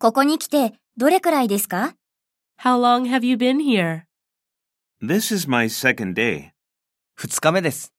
ここに来てどれくらいですか？ How long have you been here? This is my second day. 2日目です。